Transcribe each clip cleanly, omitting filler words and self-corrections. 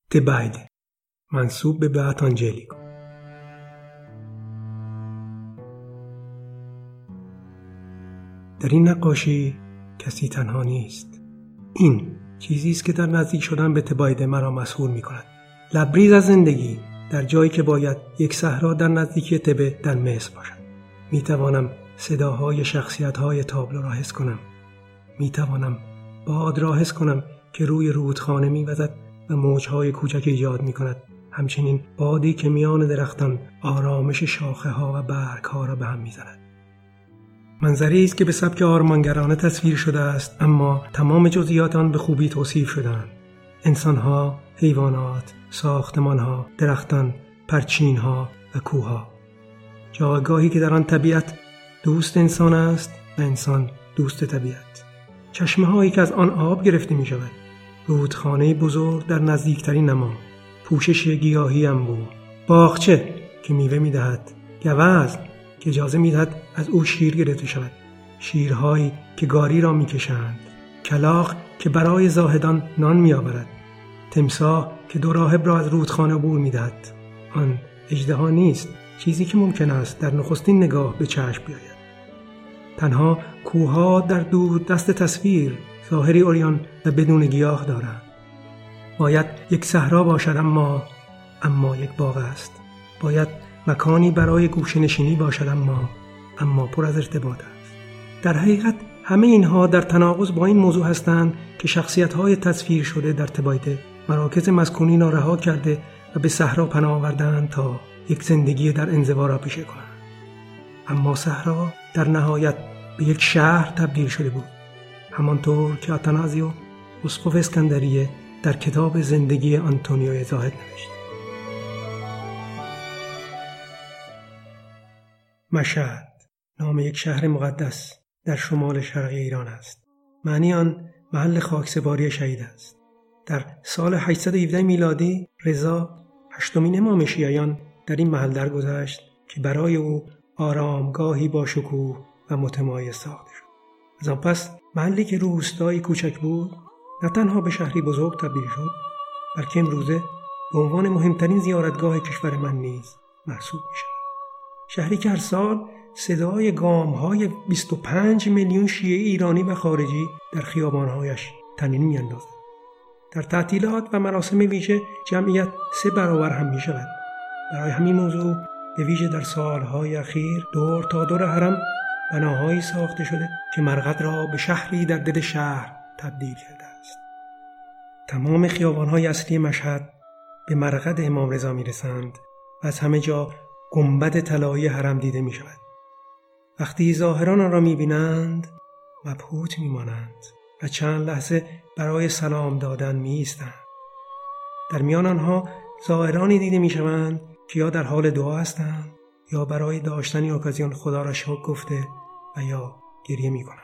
تبایده منسوب به بیات آنجلیکو. در این نقاشی کسی تنها نیست. این چیزی است که در نزدیک شدن به تبایده مرا مسحور می کند. لبریز از زندگی در جایی که باید یک صحرا در نزدیکی تبه در مصر باشد. می توانم صداهای شخصیت‌های تابلو را حس کنم. می توانم باد را حس کنم که روی رودخانه می وزد و موجهای کوچک ایجاد می کند. همچنین بادی که میان درختان آرامش شاخه ها و برگ ها را به هم می زند. منظری است که به سبک آرمانگرانه تصویر شده است، اما تمام جزئیات آن به خوبی توصیف شده‌اند. انسان‌ها، حیوانات، ساختمان‌ها، درختان، پرچین‌ها و کوه‌ها. جایگاهی که در آن طبیعت دوست انسان است و انسان دوست طبیعت. چشمه‌هایی که از آن آب گرفته می‌شود. رودخانه بزرگ در نزدیکترین نما. پوشش گیاهی انبوه. باغچه که میوه می‌دهد. گوزن که اجازه می‌دهد از او شیر گرفته شود. شیرهایی که گاری را می‌کشند. کلاغ که برای زاهدان نان می‌آورد. تمساح که دو راهب را از رودخانه عبور می‌دهد. آن اژدها نیست، چیزی که ممکن است در نخستین نگاه به چشم بیاید. تنها کوه‌ها در دور دست تصویر ظاهری عریان و بدون گیاه دارند. باید یک صحرا باشد اما یک باغ است. باید مکانی برای گوشه‌نشینی باشد اما پر از ارتباط است. در حقیقت همه اینها در تناقض با این موضوع هستند که شخصیت‌های تصویر شده در تبایده مراکز مسکونی را رها کرده و به صحرا پناه آوردند تا یک زندگی در انزوا را پیشه کنند. اما صحرا در نهایت به یک شهر تبدیل شده بود، همانطور که آتانازیو اسقف اسکندریه در کتاب زندگی آنتونیو زاهد نوشت. مشهد نام یک شهر مقدس در شمال شرقی ایران است. معنی آن محل خاکسپاری شهید است. در سال 817 میلادی رضا هشتمین امام شیعیان در این محل درگذشت که برای او آرامگاهی با شکوه و متمایز ساخته شد. از آن پس محلی که روستایی کوچک بود نه تنها به شهری بزرگ تبدیل شد، بلکه امروزه به عنوان مهمترین زیارتگاه کشور من نیز محسوب می شود. شهری که هر سال صدای گام‌های 25 میلیون شیعه ایرانی و خارجی در خیابان‌هایش طنین می‌اندازد. در تعطیلات و مراسم ویژه جمعیت 3 برابر هم می‌شود. برای همین موضوع به ویژه در سال‌های اخیر دور تا دور حرم بناهایی ساخته شده که مرقد را به شهری در دل شهر تبدیل کرده است. تمام خیابان‌های اصلی مشهد به مرقد امام رضا می‌رسند و از همه جا گنبد طلایی حرم دیده می‌شود. وقتی ظاهران آن را می‌بینند مبهوت می‌مانند و چند لحظه برای سلام دادن می‌ایستند. در میان آنها ظاهرانی دیده می‌شوند که یا در حال دعا هستند یا برای داشتن اوکازیون خدا را شکر گفته و یا گریه می‌کنند.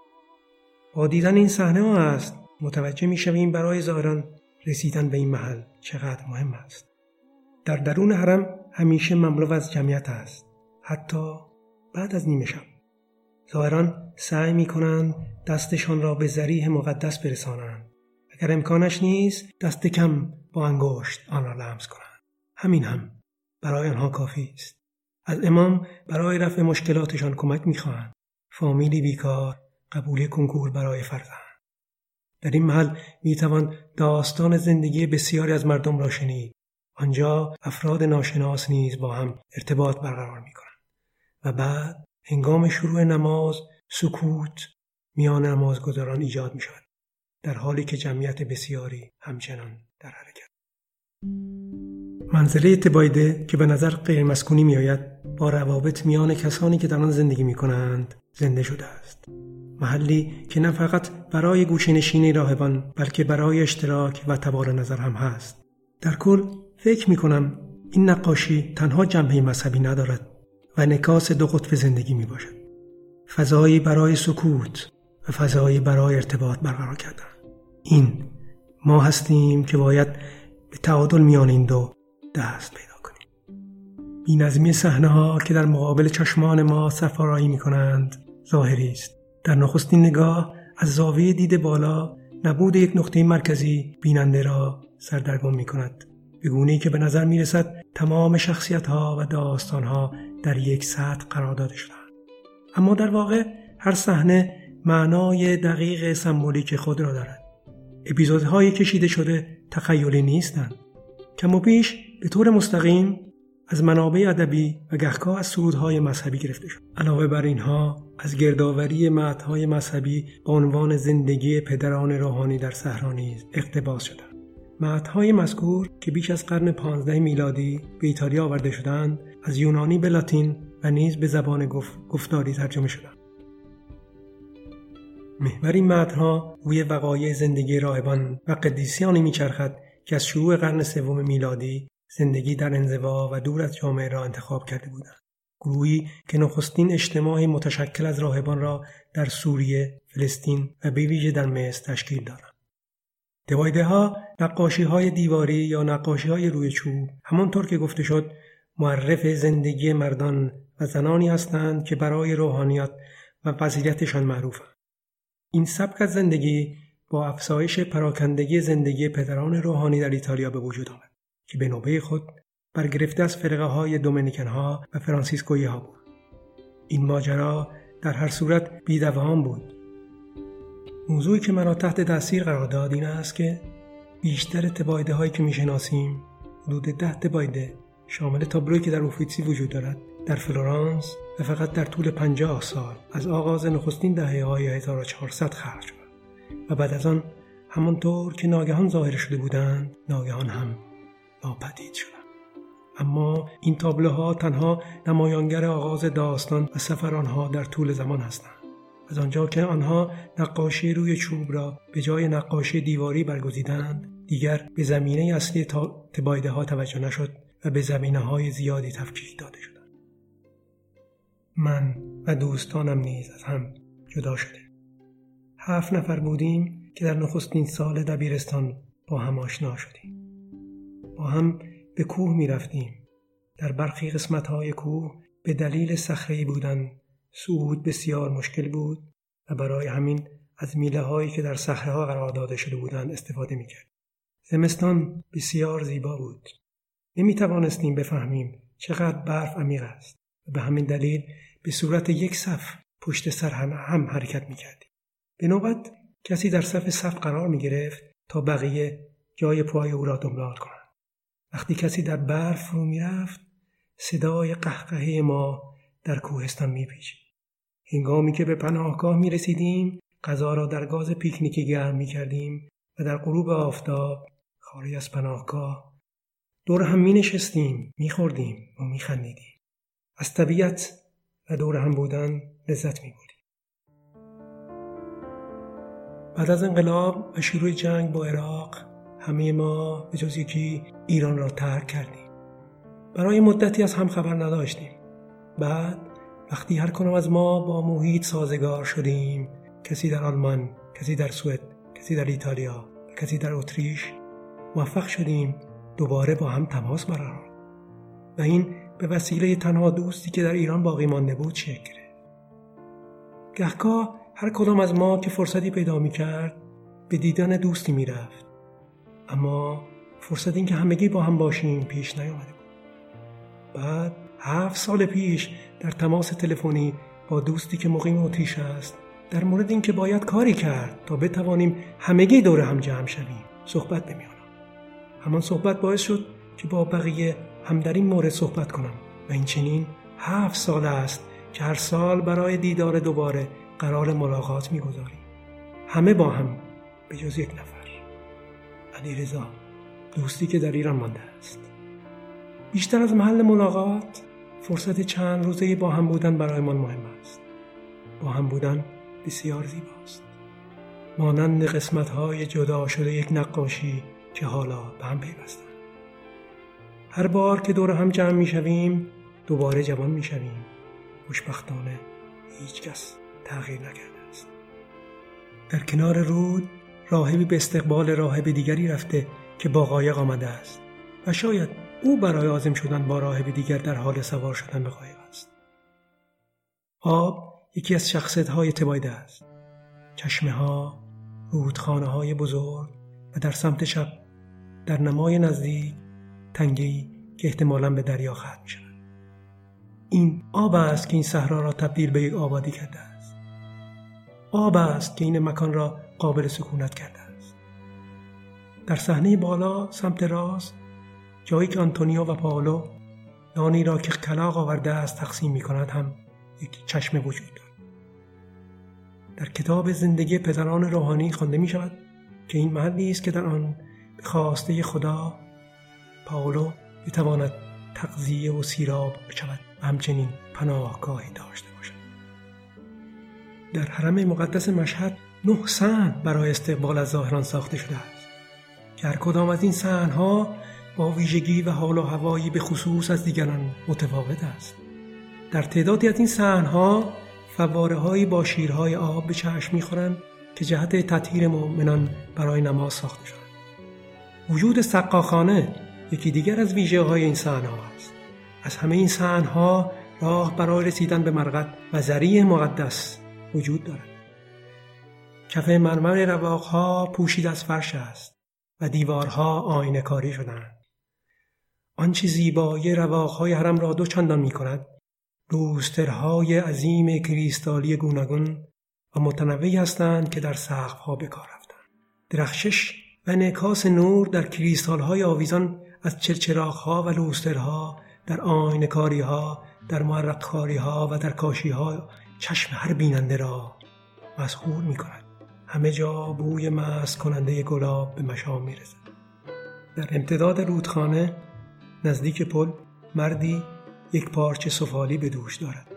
با دیدن این صحنه است متوجه می‌شویم برای ظاهران رسیدن به این محل چقدر مهم است. در درون حرم همیشه مملو از جمعیت است، حتی بعد از نیمه شب. ظاهران سعی می‌کنند دستشان را به ضریح مقدس برسانند. اگر امکانش نیست دست کم با انگشت آن را لمس کنند. همین هم برای آنها کافی است. از امام برای رفع مشکلاتشان کمک می‌خواهند. فامیلی بیکار قبولی کنکور برای فرزند. در این محل می‌توان داستان زندگی بسیاری از مردم را شنید. آنجا افراد ناشناس نیز با هم ارتباط برقرار می‌کنند. و بعد هنگام شروع نماز سکوت میان نمازگزاران ایجاد می شود، در حالی که جمعیت بسیاری همچنان در حرکت. منزله تبایده که به نظر غیر مسکونی می آید با روابط میان کسانی که در آن زندگی می کنند زنده شده است. محلی که نه فقط برای گوشه‌نشینی راهبان بلکه برای اشتراک و تبادل نظر هم هست. در کل فکر می کنم این نقاشی تنها جنبه مذهبی ندارد و انعکاس 2 قطب زندگی می باشد. فضایی برای سکوت و فضایی برای ارتباط برقرار کردن. این ما هستیم که باید به تعادل میان این دو دست پیدا کنیم. بی‌نظمی صحنه‌ها که در مقابل چشمان ما سفارایی می کنند ظاهری است. در نخستین نگاه از زاویه دید بالا نبود یک نقطه مرکزی بیننده را سردرگم می کند، به گونه‌ای که به نظر می رسد تمام شخصیت‌ها و داستان‌ها در یک سطح قرار داده شدند. اما در واقع هر صحنه معنای دقیق سمبولیک خود را دارد. اپیزودهای کشیده شده تخیلی نیستند. کم و بیش به طور مستقیم از منابع ادبی و گهگاه از سرودهای مذهبی گرفته شد. علاوه بر اینها از گردآوری متن‌های مذهبی با عنوان زندگی پدران روحانی در صحرا نیز اقتباس شدند. متن‌های مذکور که بیش از قرن 15 میلادی به ایتالیا آورده شدند، از یونانی به لاتین و نیز به زبان گفتاری ترجمه شدند. محور این متن‌ها روی وقایع زندگی راهبان و قدیسیانی می‌چرخد که از شروع قرن سوم میلادی زندگی در انزوا و دور از جامعه را انتخاب کرده بودند. گروهی که نخستین اجتماعی متشکل از راهبان را در سوریه، فلسطین و به ویژه در مصر تشکیل دادند. تبایده‌ها، نقاشی‌های دیواری یا نقاشی‌های روی چوب، همانطور که گفته شد، معرف زندگی مردان و زنانی هستند که برای روحانیت و فضیلتشان معروفند. این سبک از زندگی با افزایش پراکندگی زندگی پدران روحانی در ایتالیا به وجود آمد که به نوبه خود برگرفته از فرقه‌های دومینیکن‌ها و فرانسیسکویی‌ها بود. این ماجرا در هر صورت بی‌دوام بود. موضوعی که مرا تحت تاثیر قرار داد این است که بیشتر تبایده‌هایی که می‌شناسیم، حدود 10 تبایده شامل تابلویی که در اوفیتسی وجود دارد، در فلورانس و فقط در طول 50 سال از آغاز نخستین دهه‌های 1400 خلق شد و بعد از آن همانطور که ناگهان ظاهر شده بودند، ناگهان هم ناپدید شدند. اما این تابلوها تنها نمایانگر آغاز داستان و سفر آنها در طول زمان هستند. از آنجا که آنها نقاشی روی چوب را به جای نقاشی دیواری برگزیدند، دیگر به زمینه اصلی تبایده‌ها توجه نشد و به زمینه‌های زیادی تفکیک داده شدند. من و دوستانم نیز از هم جدا شدیم. 7 نفر بودیم که در نخستین سال دبیرستان با هم آشنا شدیم. با هم به کوه می رفتیم. در برخی قسمت‌های کوه به دلیل صخره‌ای بودن صعود بسیار مشکل بود و برای همین از میله‌هایی که در صخره‌ها قرار داده شده بودند استفاده می‌کرد. زمستان بسیار زیبا بود. نمی‌توانستیم بفهمیم چقدر برف عمیق است و به همین دلیل به صورت یک صف پشت سر هم حرکت می‌کردیم. به نوبت کسی در صف قرار می‌گرفت تا بقیه جای پای او را دنبال کنند. وقتی کسی در برف فرو می‌رفت، صدای قهقهه ما در کوهستان می‌پیچید. هنگامی که به پناهگاه می‌رسیدیم، غذا را در گاز پیکنیکی گرم می‌کردیم و در غروب آفتاب خارج از پناهگاه دور هم می‌نشستیم، می‌خوردیم و می‌خندیدیم. از طبیعت و دور هم بودن لذت می‌بردیم. بعد از انقلاب و شروع جنگ با عراق، همه ما به جز یکی ایران را ترک کردیم. برای مدتی از هم خبر نداشتیم. بعد وقتی هر کدام از ما با محیط سازگار شدیم، کسی در آلمان، کسی در سوئد، کسی در ایتالیا و کسی در اتریش، موفق شدیم دوباره با هم تماس برقرار و این به وسیله تنها دوستی که در ایران باقی مانده بود شکل گرفت. گهگاه هر کدام از ما که فرصتی پیدا می‌کرد به دیدن دوستی می‌رفت، اما فرصت این که همگی با هم باشیم پیش نیامده بود. بعد 7 سال پیش در تماس تلفنی با دوستی که مقیم اتریش است در مورد این که باید کاری کرد تا بتوانیم همگی دور هم جمع شویم صحبت نمی‌آمد. همان صحبت باعث شد که با بقیه هم در این مورد صحبت کنم و این چنین 7 سال است که هر سال برای دیدار دوباره قرار ملاقات می‌گذاریم. همه با هم به جز یک نفر، علیرضا، دوستی که در ایران مانده است. بیشتر از محل ملاقات، فرصت چند روزه با هم بودن برایمان مهم است. با هم بودن بسیار زیباست. مانند قسمت‌های جدا شده یک نقاشی که حالا به هم پیوستند. هر بار که دور هم جمع می‌شویم، دوباره جوان می‌شویم. خوشبختانه هیچ کس تغییر نکرده است. در کنار رود راهبی به استقبال راهب دیگری رفته که با قایق آمده است و شاید او برای عازم شدن با راهب دیگر در حال سوار شدن به قایق است. آب یکی از شخصیت‌های تبایده است. چشمه‌ها، رودخانه‌های بزرگ و در سمت چپ در نمای نزدیک تنگه‌ای که احتمالاً به دریا ختم شد. این آب است که این صحرا را تبدیل به یک آبادی کرده است. آب است که این مکان را قابل سکونت کرده است. در صحنه بالا سمت راست، جایی که آنتونیو و پائولو نانی را که کلاغ آورده است تقسیم می‌کند هم یک چشمه وجود دارد. در کتاب زندگی پدران روحانی خوانده می‌شود که این محلی است که در آن به خواسته خدا پائولو بتواند تغذیه و سیراب بشود و همچنین پناهگاهی داشته باشد. در حرم مقدس مشهد 9 صحن برای استقبال از زائران ساخته شده است که هر کدام از این صحن‌ها با ویژگی و حال و هوایی به خصوص از دیگران متفاوت است. در تعدادی از این صحن‌ها فواره‌هایی با شیرهای آب به چشم می‌خورند که جهت تطهیر مؤمنان برای نماز ساخته شدند. وجود سقاخانه یکی دیگر از ویژگی‌های این صحن‌ها است. از همه این صحن‌ها راه برای رسیدن به مرقد و ذریع مقدس وجود دارد. کف مرمر رواق‌ها پوشیده از فرش است و دیوارها آینه کاری شدند. آنچه زیبایی رواق‌های حرم را دوچندان می‌کند، لوسترهای عظیم کریستالی گوناگون و متنوعی هستند که در سقف‌ها به کار رفتند. درخشش و انعکاس نور در کریستال‌های آویزان از چرچراغ‌ها و لوسترها، در آینه‌کاری‌ها، در معرق‌کاری‌ها و در کاشی‌ها چشم هر بیننده را مسحور می‌کند. همه جا بوی مست کننده گلاب به مشام می‌رسد. در امتداد رودخانه نزدیک پل مردی یک پارچه سفالی به دوش دارد.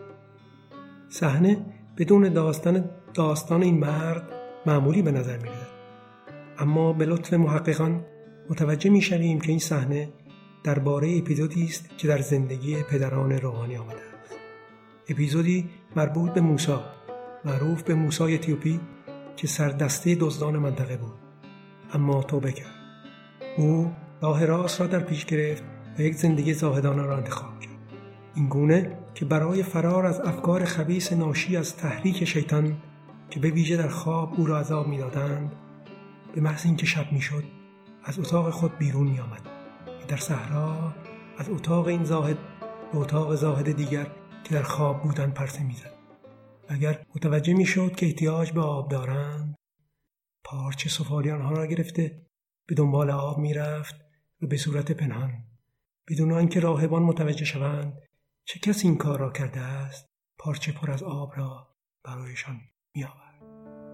صحنه بدون داستان این مرد معمولی به نظر می‌رسد، اما به لطف محققان متوجه می‌شویم که این صحنه درباره اپیزودی است که در زندگی پدران روحانی آمده است. اپیزودی مربوط به موسی، معروف به موسی اتیوپی، که سردسته دزدان منطقه بود اما توبه کرد. او راه راست را در پیش گرفت و یک زندگی زاهدانه را انتخاب کرد. این گونه که برای فرار از افکار خبیث ناشی از تحریک شیطان که به ویژه در خواب او را عذاب می‌دادند، به محض اینکه شب می‌شد از اتاق خود بیرون می‌آمد. در صحرا از اتاق این زاهد به اتاق زاهد دیگر که در خواب بودند پرسه می‌زد. اگر متوجه می‌شد که احتیاج به آب دارند، پارچه سفالی آنها را گرفته به دنبال آب می‌رفت و به صورت پنهان، بدون آنکه راهبان متوجه شوند چه کسی این کار را کرده است، پارچه پر از آب را برایشان می‌آورد.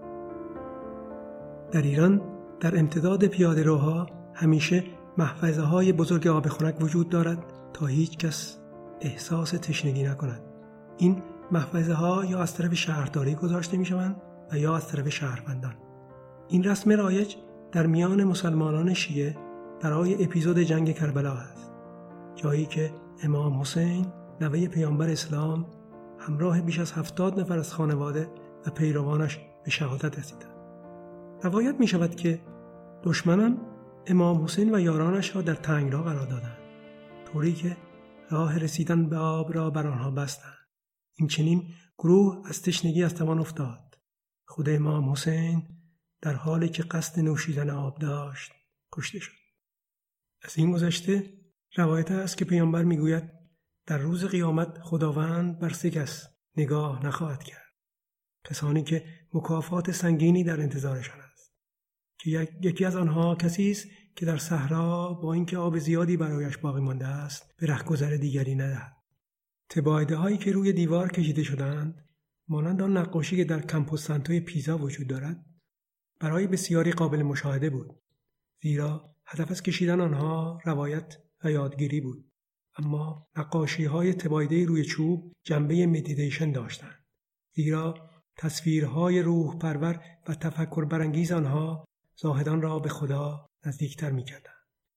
در ایران در امتداد پیاده‌روها همیشه محفظه‌های بزرگ آب خنک وجود دارد تا هیچ کس احساس تشنگی نکند. این محفظه‌ها یا از طرف شهرداری گذاشته می‌شوند و یا از طرف شهروندان. این رسم رایج در میان مسلمانان شیعه برای اپیزود جنگ کربلا است، جایی که امام حسین نوه پیامبر اسلام همراه بیش از 70 نفر از خانواده و پیروانش به شهادت رسیدند. روایت می‌شود که دشمنان امام حسین و یارانش را در تنگنا قرار دادند، طوری که راه رسیدن به آب را بر آنها بستند. این چنین گروه از تشنگی از توان افتاد. خود امام حسین در حالی که قصد نوشیدن آب داشت کشته شد. از این گذشته روایت است که پیامبر میگوید در روز قیامت خداوند بر 3 کس نگاه نخواهد کرد، کسانی که مکافات سنگینی در انتظارشان است، که یکی از آنها کسی است که در صحرا با اینکه آب زیادی برایش باقی مانده است به رهگذر دیگری ندهد. تبایده هایی که روی دیوار کشیده شدند، مانند آن نقاشی که در کمپوس سانتوی پیزا وجود دارد، برای بسیاری قابل مشاهده بود، زیرا هدف از کشیدن آنها روایت و یادگیری بود. اما نقاشی های تبایده روی چوب جنبه مدیتیشن داشتند، زیرا تصویرهای روح پرور و تفکر برانگیز آنها زاهدان را به خدا نزدیکتر می‌کردند.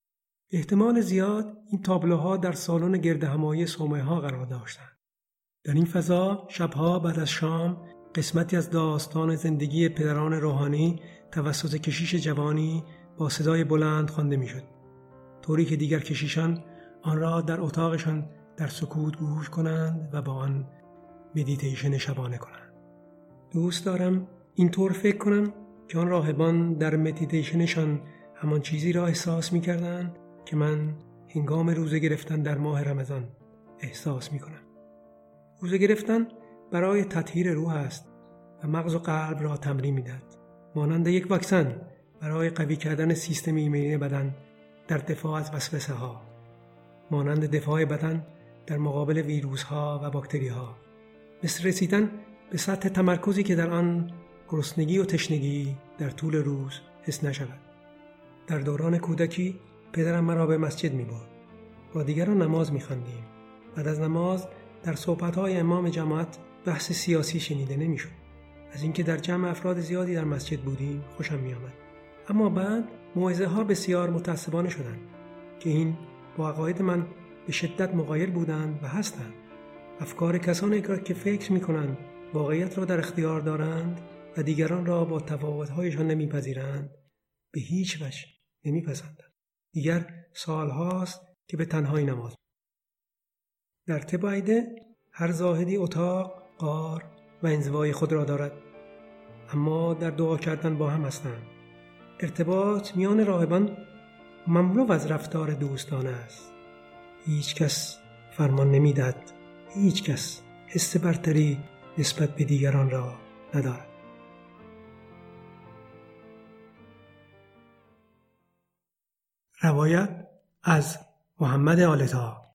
احتمال زیاد این تابلوها در سالن گردهمایی صومعه‌ها قرار داشتند. در این فضا شبها بعد از شام قسمتی از داستان زندگی پدران روحانی توسط کشیش جوانی با صدای بلند خوانده می‌شد، طوری که دیگر کشیشان آن را در اتاقشان در سکوت گوش کنند و با آن مدیتیشن شبانه کنند. دوست دارم اینطور فکر کنم که آن راهبان در مدیتیشنشان همان چیزی را احساس می‌کردند که من هنگام روزه گرفتن در ماه رمضان احساس می‌کنم. روزه گرفتن برای تطهیر روح است و مغز و قلب را تمرین می‌دهد. مانند یک واکسن برای قوی کردن سیستم ایمنی بدن در دفاع از وسوسه‌ها، مانند دفاع بدن در مقابل ویروس‌ها و باکتری‌ها، مثل رسیدن به سطح تمرکزی که در آن گرسنگی و تشنگی در طول روز حس نشود. در دوران کودکی پدرم مرا به مسجد می‌برد. با دیگران نماز می‌خواندیم. بعد از نماز در صحبت‌های امام جماعت بحث سیاسی شنیده نمی‌شد. از اینکه در جمع افراد زیادی در مسجد بودیم خوشم می‌آمد. اما بعد موعظه‌ها بسیار متعصبانه شدند که این با عقاید من به شدت مغایر بودند و هستند. افکار کسانی که فکر می‌کنند واقعیت را در اختیار دارند و دیگران را با تفاوت‌هایشان نمی‌پذیرند به هیچ وجه نمی‌پسندند. دیگر سال‌هاست که به تنهایی نماز. در طب عقیده هر زاهدی اتاق، غار و انزوای خود را دارد، اما در دعا کردن با هم هستند. ارتباط میان راهبان مملو از رفتار دوستانه است. هیچ کس فرمان نمی‌دهد، هیچ کس حس برتری نسبت به دیگران را ندارد. روایت از محمد آل‌طاها.